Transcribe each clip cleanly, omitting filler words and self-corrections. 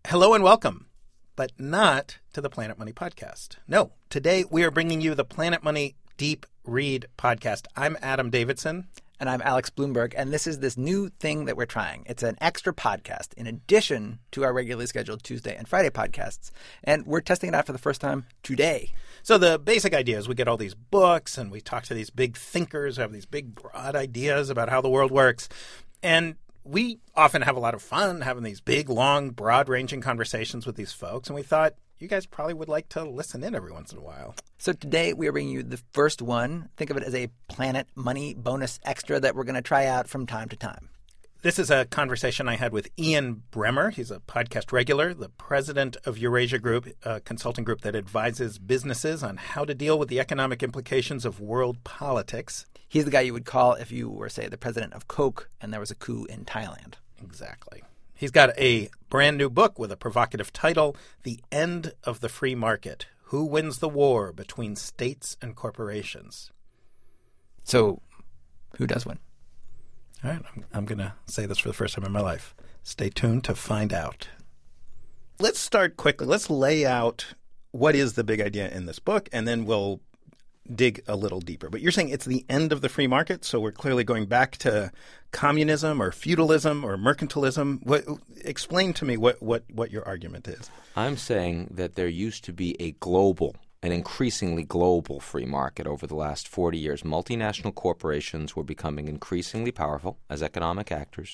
Hello and welcome, but not to the Planet Money podcast. No, today we are bringing you the Planet Money Deep Read podcast. I'm Adam Davidson. And I'm Alex Bloomberg, and this is this new thing that we're trying. It's an extra podcast in addition to our regularly scheduled Tuesday and Friday podcasts. And we're testing it out for the first time today. So the basic idea is we get all these books and we talk to these big thinkers who have these big, broad ideas about how the world works. And we often have a lot of fun having these big, long, broad-ranging conversations with these folks. And we thought you guys probably would like to listen in every once in a while. So today we are bringing you the first one. Think of it as a Planet Money bonus extra that we're going to try out from time to time. This is a conversation I had with Ian Bremmer. He's a podcast regular, the president of Eurasia Group, a consulting group that advises businesses on how to deal with the economic implications of world politics. He's the guy you would call if you were, say, the president of Coke and there was a coup in Thailand. Exactly. He's got a brand new book with a provocative title, The End of the Free Market: Who Wins the War Between States and Corporations. So who does win? All right, I'm going to say this for the first time in my life. Stay tuned to find out. Let's start quickly. Let's lay out what is the big idea in this book, and then we'll dig a little deeper. But you're saying it's the end of the free market, so we're clearly going back to communism or feudalism or mercantilism. Explain to me what your argument is. I'm saying that there used to be an increasingly global free market over the last 40 years. Multinational corporations were becoming increasingly powerful as economic actors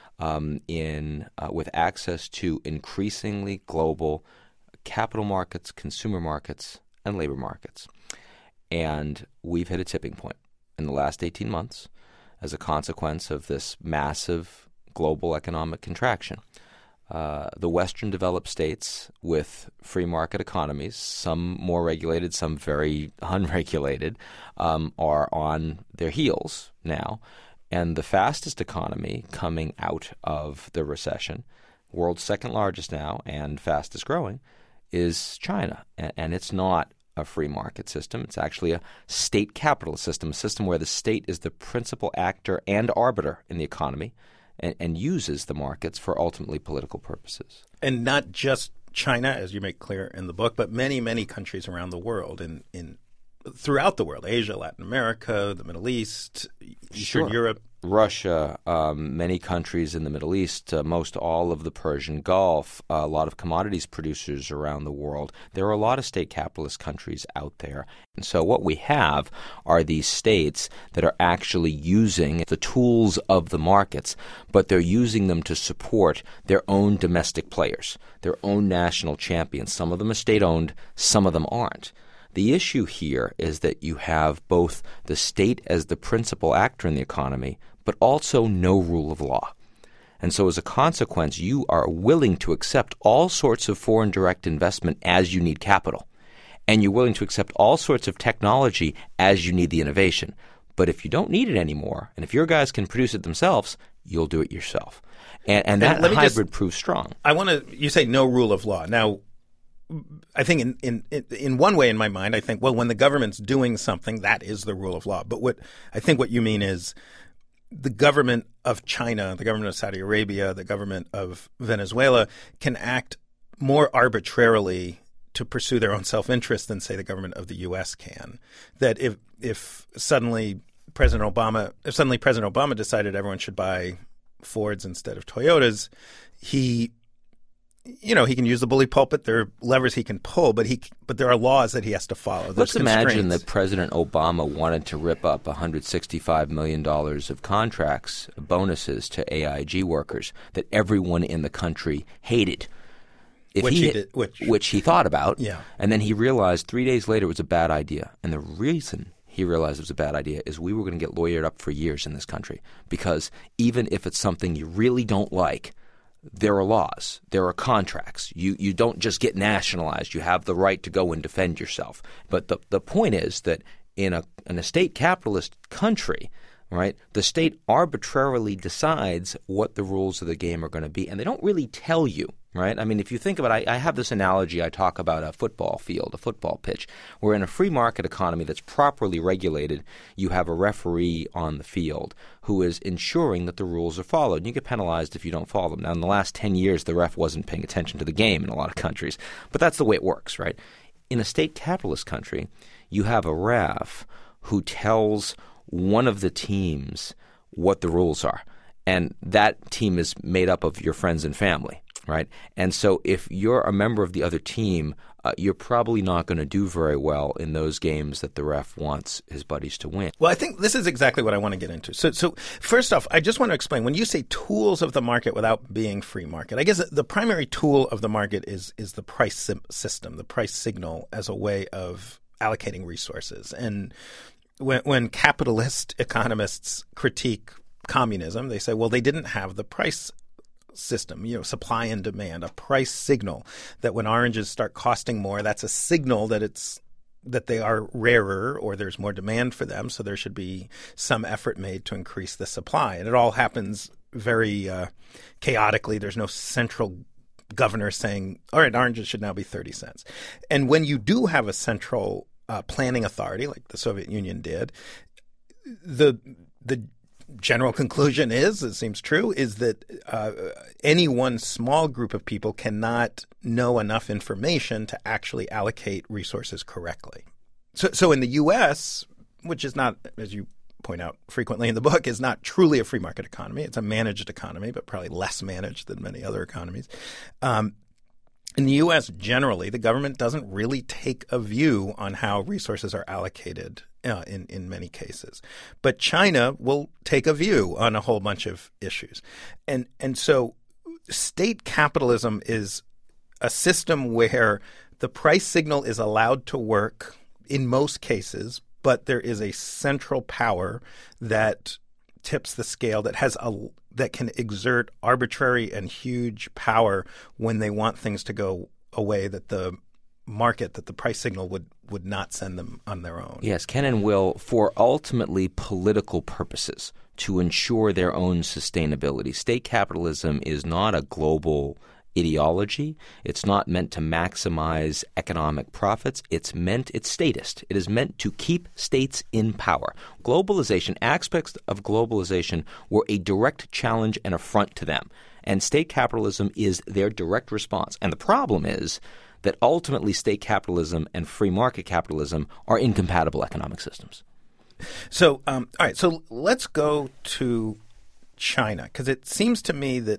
with access to increasingly global capital markets, consumer markets, and labor markets. And we've hit a tipping point in the last 18 months as a consequence of this massive global economic contraction. The Western developed states with free market economies, some more regulated, some very unregulated, are on their heels now. And the fastest economy coming out of the recession, world's second largest now and fastest growing, is China. And it's not a free market system. It's actually a state capitalist system, a system where the state is the principal actor and arbiter in the economy and uses the markets for ultimately political purposes. And not just China, as you make clear in the book, but many, many countries around the world, throughout the world, Asia, Latin America, the Middle East, Eastern Europe. Russia, many countries in the Middle East, most all of the Persian Gulf, a lot of commodities producers around the world. There are a lot of state capitalist countries out there. And so what we have are these states that are actually using the tools of the markets, but they're using them to support their own domestic players, their own national champions. Some of them are state-owned, some of them aren't. The issue here is that you have both the state as the principal actor in the economy, but also no rule of law. And so as a consequence, you are willing to accept all sorts of foreign direct investment as you need capital. And you're willing to accept all sorts of technology as you need the innovation. But if you don't need it anymore, and if your guys can produce it themselves, you'll do it yourself. And that hybrid proves strong. You say no rule of law. Now, I think in one way in my mind, I think, well, when the government's doing something, that is the rule of law. But what you mean is the government of China, the government of Saudi Arabia, the government of Venezuela can act more arbitrarily to pursue their own self-interest than, say, the government of the U.S. can. That if suddenly President Obama decided everyone should buy Fords instead of Toyotas, he can use the bully pulpit. There are levers he can pull, but there are laws that he has to follow. Let's imagine that President Obama wanted to rip up $165 million of contracts, bonuses to AIG workers that everyone in the country hated. Which he thought about. Yeah. And then he realized 3 days later it was a bad idea. And the reason he realized it was a bad idea is we were going to get lawyered up for years in this country, because even if it's something you really don't like, there are laws, there are contracts. You don't just get nationalized. You have the right to go and defend yourself. But the point is that in a state capitalist country, right, the state arbitrarily decides what the rules of the game are going to be, and they don't really tell you right? I mean, if you think about it, I have this analogy. I talk about a football field, a football pitch, where in a free market economy that's properly regulated, you have a referee on the field who is ensuring that the rules are followed. And you get penalized if you don't follow them. Now, in the last 10 years, the ref wasn't paying attention to the game in a lot of countries. But that's the way it works, right? In a state capitalist country, you have a ref who tells one of the teams what the rules are. And that team is made up of your friends and family. Right? And so if you're a member of the other team, you're probably not going to do very well in those games that the ref wants his buddies to win. Well, I think this is exactly what I want to get into. So first off, I just want to explain, when you say tools of the market without being free market, I guess the primary tool of the market is the price system, the price signal as a way of allocating resources. And when capitalist economists critique communism, they say, well, they didn't have the price system, supply and demand, a price signal that when oranges start costing more, that's a signal that they are rarer or there's more demand for them. So there should be some effort made to increase the supply. And it all happens very chaotically. There's no central governor saying, all right, oranges should now be 30 cents. And when you do have a central planning authority like the Soviet Union did, the general conclusion is, it seems true, is that any one small group of people cannot know enough information to actually allocate resources correctly. So in the U.S., which is not, as you point out frequently in the book, is not truly a free market economy. It's a managed economy, but probably less managed than many other economies. In the U.S., generally, the government doesn't really take a view on how resources are allocated in many cases. But China will take a view on a whole bunch of issues. And so state capitalism is a system where the price signal is allowed to work in most cases, but there is a central power that tips the scale, that can exert arbitrary and huge power when they want things to go away that the price signal would not send them on their own. Yes, can and will, for ultimately political purposes, to ensure their own sustainability. State capitalism is not a global ideology. It's not meant to maximize economic profits. It's statist. It is meant to keep states in power. Globalization, aspects of globalization were a direct challenge and affront to them. And state capitalism is their direct response. And the problem is that ultimately state capitalism and free market capitalism are incompatible economic systems. So, all right, so let's go to China, because it seems to me that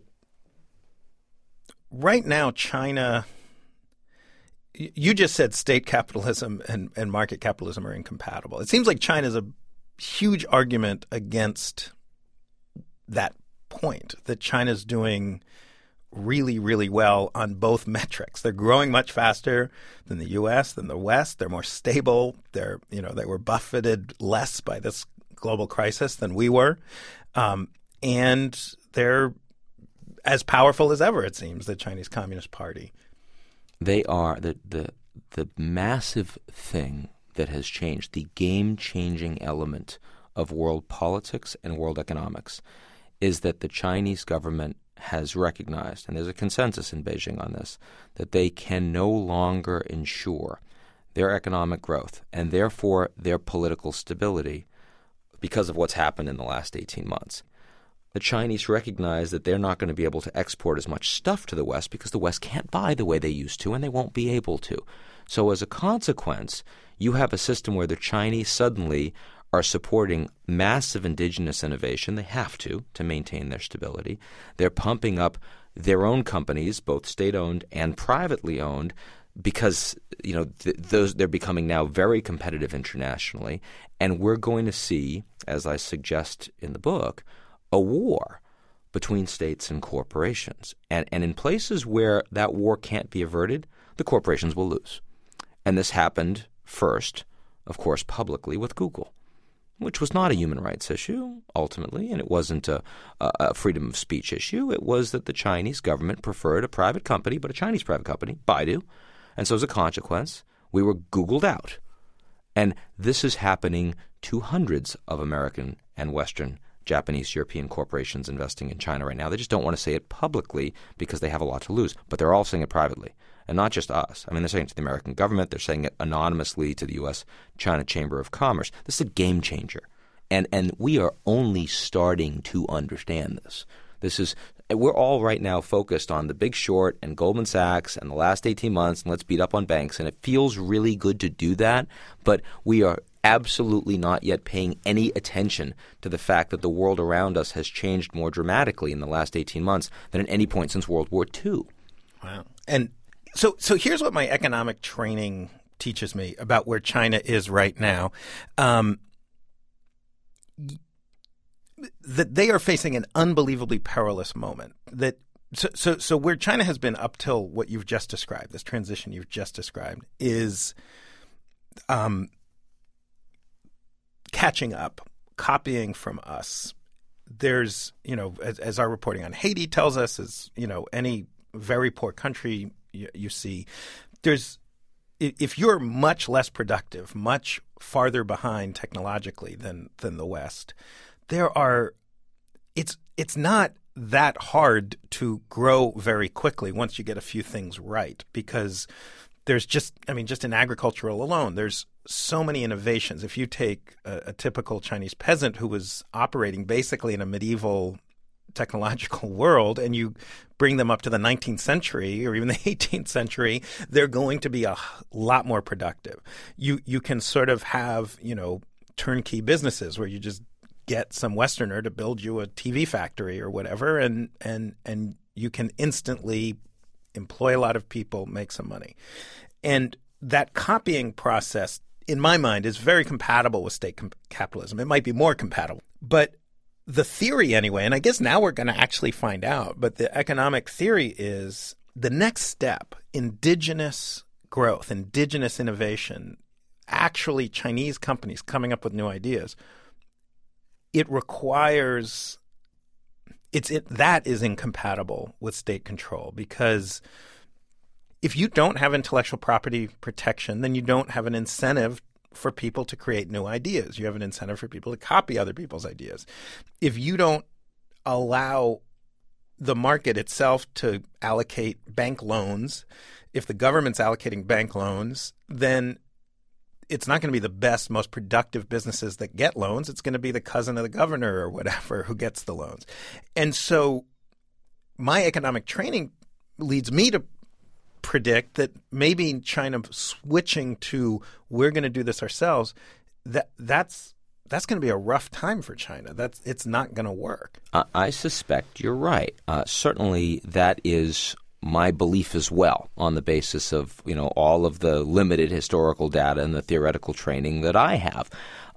right now, China, you just said state capitalism and market capitalism are incompatible. It seems like China's a huge argument against that point, that China's doing really, really well on both metrics. They're growing much faster than the U.S., than the West. They're more stable. They were buffeted less by this global crisis than we were. And they're as powerful as ever, it seems, the Chinese Communist Party. They are the massive thing that has changed, the game-changing element of world politics and world economics, is that the Chinese government has recognized, and there's a consensus in Beijing on this, that they can no longer ensure their economic growth and therefore their political stability because of what's happened in the last 18 months. The Chinese recognize that they're not going to be able to export as much stuff to the West because the West can't buy the way they used to, and they won't be able to. So as a consequence, you have a system where the Chinese suddenly are supporting massive indigenous innovation. They have to maintain their stability. They're pumping up their own companies, both state-owned and privately owned, because they're becoming now very competitive internationally. And we're going to see, as I suggest in the book, a war between states and corporations. And in places where that war can't be averted, the corporations will lose. And this happened first, of course, publicly with Google, which was not a human rights issue, ultimately, and it wasn't a freedom of speech issue. It was that the Chinese government preferred a private company, but a Chinese private company, Baidu. And so as a consequence, we were Googled out. And this is happening to hundreds of American and Western Japanese, European corporations investing in China right now. They just don't want to say it publicly because they have a lot to lose, but they're all saying it privately. And not just us. I mean, they're saying it to the American government. They're saying it anonymously to the U.S.-China Chamber of Commerce. This is a game changer. And we are only starting to understand this. We're all right now focused on the Big Short and Goldman Sachs and the last 18 months, and let's beat up on banks. And it feels really good to do that, but we are absolutely not yet paying any attention to the fact that the world around us has changed more dramatically in the last 18 months than at any point since World War II. Wow. And so here's what my economic training teaches me about where China is right now. That they are facing an unbelievably perilous moment. So where China has been up till what you've just described, this transition you've just described, is catching up, copying from us. There's, as our reporting on Haiti tells us, as any very poor country you see, if you're much less productive, much farther behind technologically than the West, it's not that hard to grow very quickly once you get a few things right, because there's just in agricultural alone, there's so many innovations. If you take a typical Chinese peasant who was operating basically in a medieval technological world and you bring them up to the 19th century or even the 18th century, they're going to be a lot more productive. You can sort of have, turnkey businesses where you just get some Westerner to build you a TV factory or whatever, and you can instantly employ a lot of people, make some money. And that copying process, in my mind, is very compatible with state capitalism. It might be more compatible. But the theory anyway, and I guess now we're going to actually find out, but the economic theory is the next step, indigenous growth, indigenous innovation, actually Chinese companies coming up with new ideas. It requires that is incompatible with state control, because if you don't have intellectual property protection, then you don't have an incentive for people to create new ideas. You have an incentive for people to copy other people's ideas. If you don't allow the market itself to allocate bank loans, if the government's allocating bank loans, then it's not going to be the best, most productive businesses that get loans. It's going to be the cousin of the governor or whatever who gets the loans. And so my economic training leads me to predict that maybe China switching to we're going to do this ourselves, that's going to be a rough time for China. It's not going to work. I suspect you're right. Certainly that is my belief as well, on the basis of all of the limited historical data and the theoretical training that I have.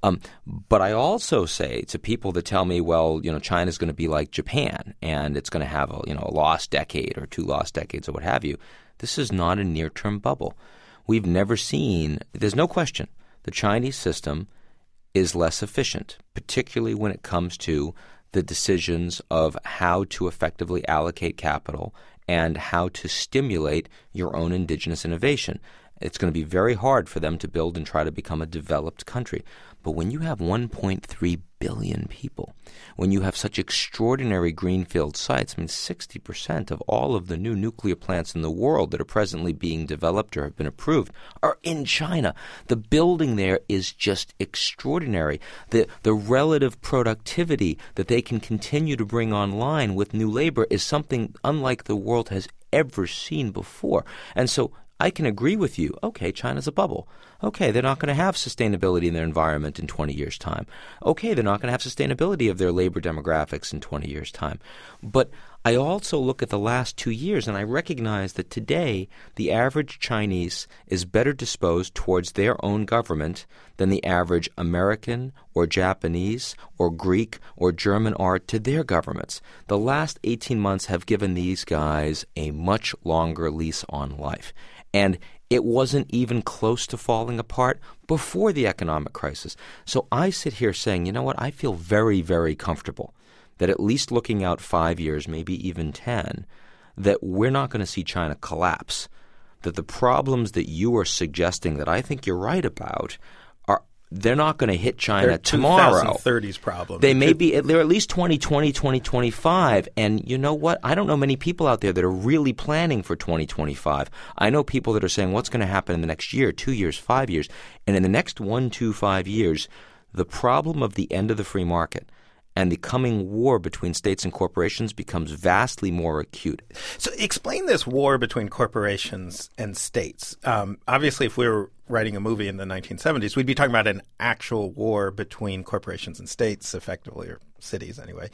But I also say to people that tell me, well, China's going to be like Japan and it's going to have a lost decade or 2 lost decades or what have you. This is not a near-term bubble. We've never seen – there's no question the Chinese system is less efficient, particularly when it comes to the decisions of how to effectively allocate capital and how to stimulate your own indigenous innovation. It's going to be very hard for them to build and try to become a developed country. But when you have 1.3 billion people, when you have such extraordinary greenfield sites, 60% of all of the new nuclear plants in the world that are presently being developed or have been approved are in China. The building there is just extraordinary. The relative productivity that they can continue to bring online with new labor is something unlike the world has ever seen before. And so I can agree with you. Okay, China's a bubble. Okay, they're not going to have sustainability in their environment in 20 years' time. Okay, they're not going to have sustainability of their labor demographics in 20 years' time. But I also look at the last 2 years and I recognize that today the average Chinese is better disposed towards their own government than the average American or Japanese or Greek or German are to their governments. The last 18 months have given these guys a much longer lease on life. And it wasn't even close to falling apart before the economic crisis. So I sit here saying, you know what, I feel very, very comfortable that at least looking out 5 years, maybe even 10, that we're not going to see China collapse, that the problems that you are suggesting that I think you're right about they're not going to hit China They're tomorrow. 2030s problem. They may be. They're at least 2020, 2025. And you know what? I don't know many people out there that are really planning for 2025. I know people that are saying, what's going to happen in the next year, 2 years, 5 years? And in the next 1, 2, 5 years, the problem of the end of the free market and the coming war between states and corporations becomes vastly more acute. So explain this war between corporations and states. Obviously, if we were writing a movie in the 1970s, we'd be talking about an actual war between corporations and states, effectively, or cities anyway.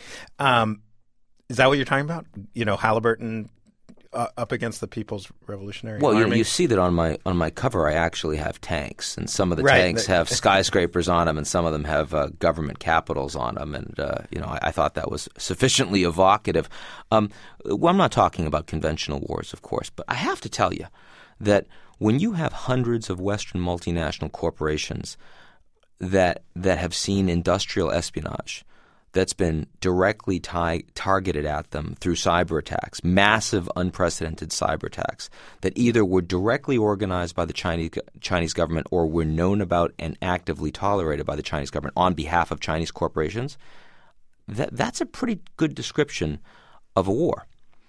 Is that what you're talking about? You know, Halliburton up against the People's Revolutionary Army? Well, you see that on my cover, I actually have tanks, and some of the tanks have skyscrapers on them, and some of them have government capitals on them. And I thought that was sufficiently evocative. Well, I'm not talking about conventional wars, of course, but I have to tell you that when you have hundreds of Western multinational corporations that have seen industrial espionage that's been directly targeted at them through cyber attacks, massive, unprecedented cyber attacks that either were directly organized by the Chinese government or were known about and actively tolerated by the Chinese government on behalf of Chinese corporations, that's a pretty good description of a war.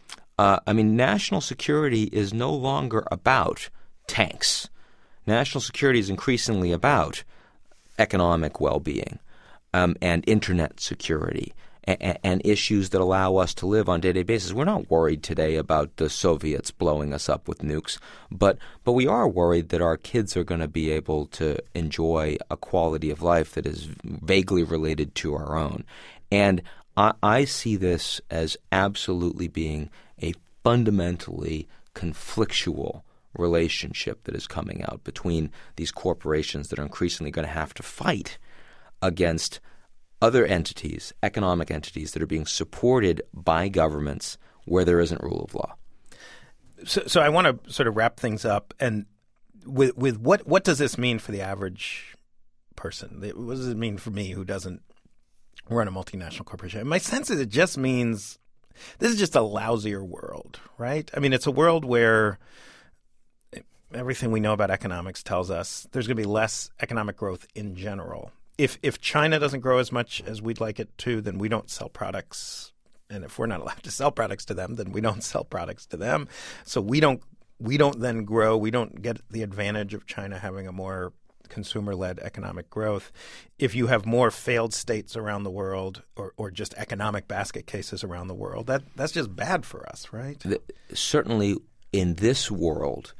National security is no longer about tanks. National security is increasingly about economic well-being. And internet security and issues that allow us to live on a day-to-day basis. We're not worried today about the Soviets blowing us up with nukes, but we are worried that our kids are going to be able to enjoy a quality of life that is vaguely related to our own. And I see this as absolutely being a fundamentally conflictual relationship that is coming out between these corporations that are increasingly going to have to fight against other entities, economic entities that are being supported by governments where there isn't rule of law. So I want to sort of wrap things up. And with what does this mean for the average person? What does it mean for me who doesn't run a multinational corporation? And my sense is it just means this is just a lousier world, right? I mean, it's a world where everything we know about economics tells us there's going to be less economic growth in general. If China doesn't grow as much as we'd like it to, then we don't sell products. And if we're not allowed to sell products to them, then we don't sell products to them. So we don't then grow. We don't get the advantage of China having a more consumer-led economic growth. If you have more failed states around the world or just economic basket cases around the world, that's just bad for us, right? Certainly in this world,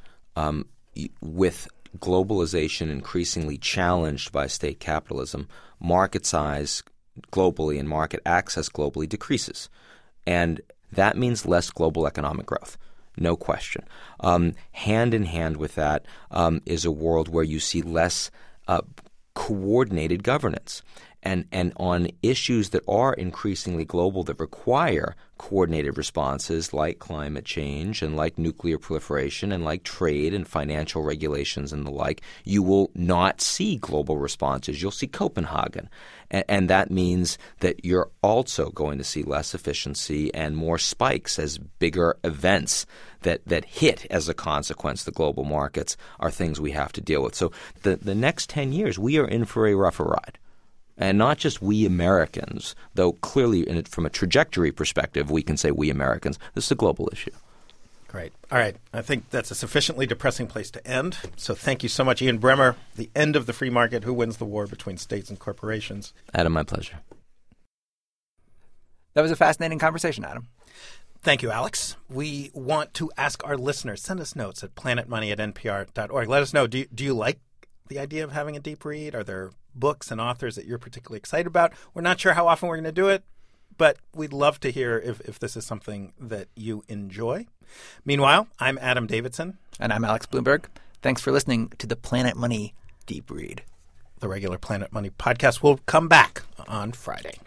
with globalization increasingly challenged by state capitalism, market size globally and market access globally decreases. And that means less global economic growth, no question. Hand in hand with that is a world where you see less coordinated governance. And on issues that are increasingly global that require coordinated responses like climate change and like nuclear proliferation and like trade and financial regulations and the like, you will not see global responses. You'll see Copenhagen. And that means that you're also going to see less efficiency and more spikes as bigger events that hit as a consequence the global markets are things we have to deal with. So the next 10 years, we are in for a rougher ride. And not just we Americans, though clearly from a trajectory perspective, we can say we Americans. This is a global issue. Great. All right. I think that's a sufficiently depressing place to end. So thank you so much, Ian Bremmer. The End of the Free Market, Who Wins the War Between States and Corporations. Adam, my pleasure. That was a fascinating conversation, Adam. Thank you, Alex. We want to ask our listeners, send us notes at planetmoney@npr.org. Let us know, do you like the idea of having a deep read? Are there books and authors that you're particularly excited about? We're not sure how often we're going to do it, but we'd love to hear if this is something that you enjoy. Meanwhile, I'm Adam Davidson. And I'm Alex Bloomberg. Thanks for listening to the Planet Money Deep Read. The regular Planet Money podcast will come back on Friday.